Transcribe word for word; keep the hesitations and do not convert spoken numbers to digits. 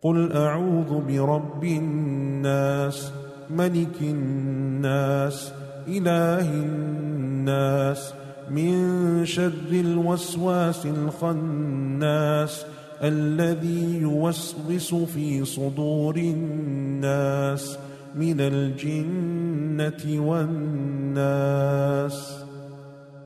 قل أعوذ برب الناس ملك الناس إله الناس من شر الوسواس الخناس الذي يوسوس في صدور الناس من الجنة والناس.